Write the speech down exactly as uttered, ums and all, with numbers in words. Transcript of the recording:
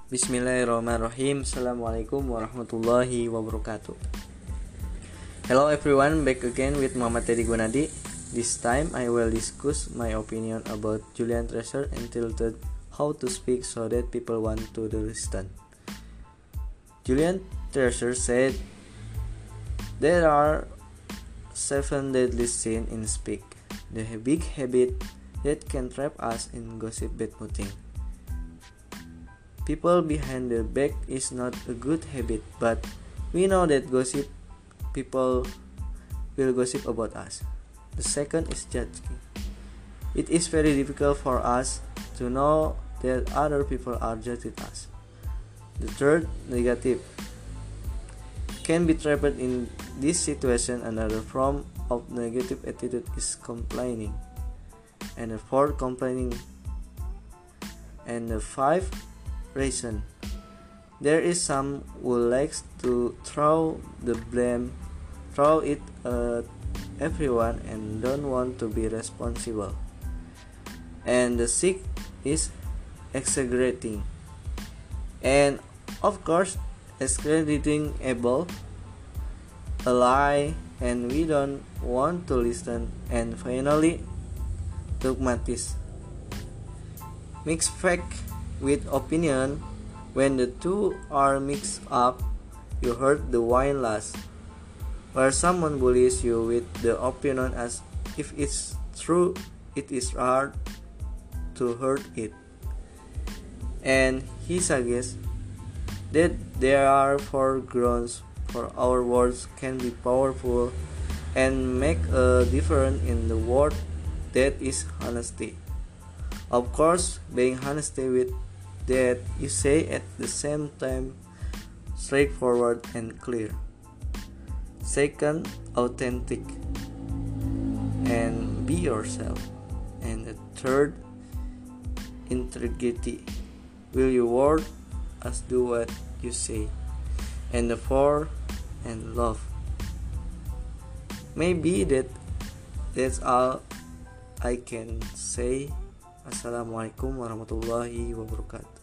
Bismillahirrahmanirrahim. Assalamualaikum warahmatullahi wabarakatuh. Hello everyone, back again with Muhammad Teddy Gunadi. This time I will discuss my opinion about Julian Treasure entitled How to Speak So That People Want to Listen. Julian Treasure said, there are seven deadly sins in speak, the big habit that can trap us in gossip bad-mouthing. People behind the back is not a good habit, but we know that gossip people will gossip about us. The second is judging. It is very difficult for us to know that other people are judging us. The third, negative. Can be trapped in this situation. Another form of negative attitude is complaining. And the fourth, complaining. And the five, reason. There is some who likes to throw the blame, throw it at everyone and don't want to be responsible. And the sixth is exaggerating. And of course, exaggerating able, a lie, and we don't want to listen. And finally, dogmatism. Mixed fact with opinion. When the two are mixed up, you hurt the wine last. Where someone bullies you with the opinion as if it's true, it is hard to hurt it. And he suggests that there are four grounds for our words can be powerful and make a difference in the world. That is honesty. Of course, being honesty with that you say at the same time straightforward and clear. Second, authentic and be yourself. And the third, integrity. Will your word as do what you say. And the fourth, and love. Maybe that that's all I can say. Assalamualaikum warahmatullahi wabarakatuh.